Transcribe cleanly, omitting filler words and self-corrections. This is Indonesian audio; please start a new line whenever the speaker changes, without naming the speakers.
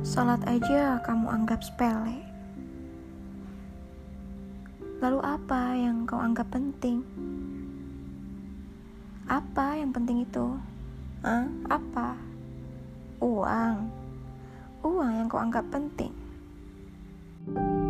Salat aja kamu anggap sepele. Lalu apa yang kau anggap penting? Apa yang penting itu? Apa? Uang. Uang yang kau anggap penting.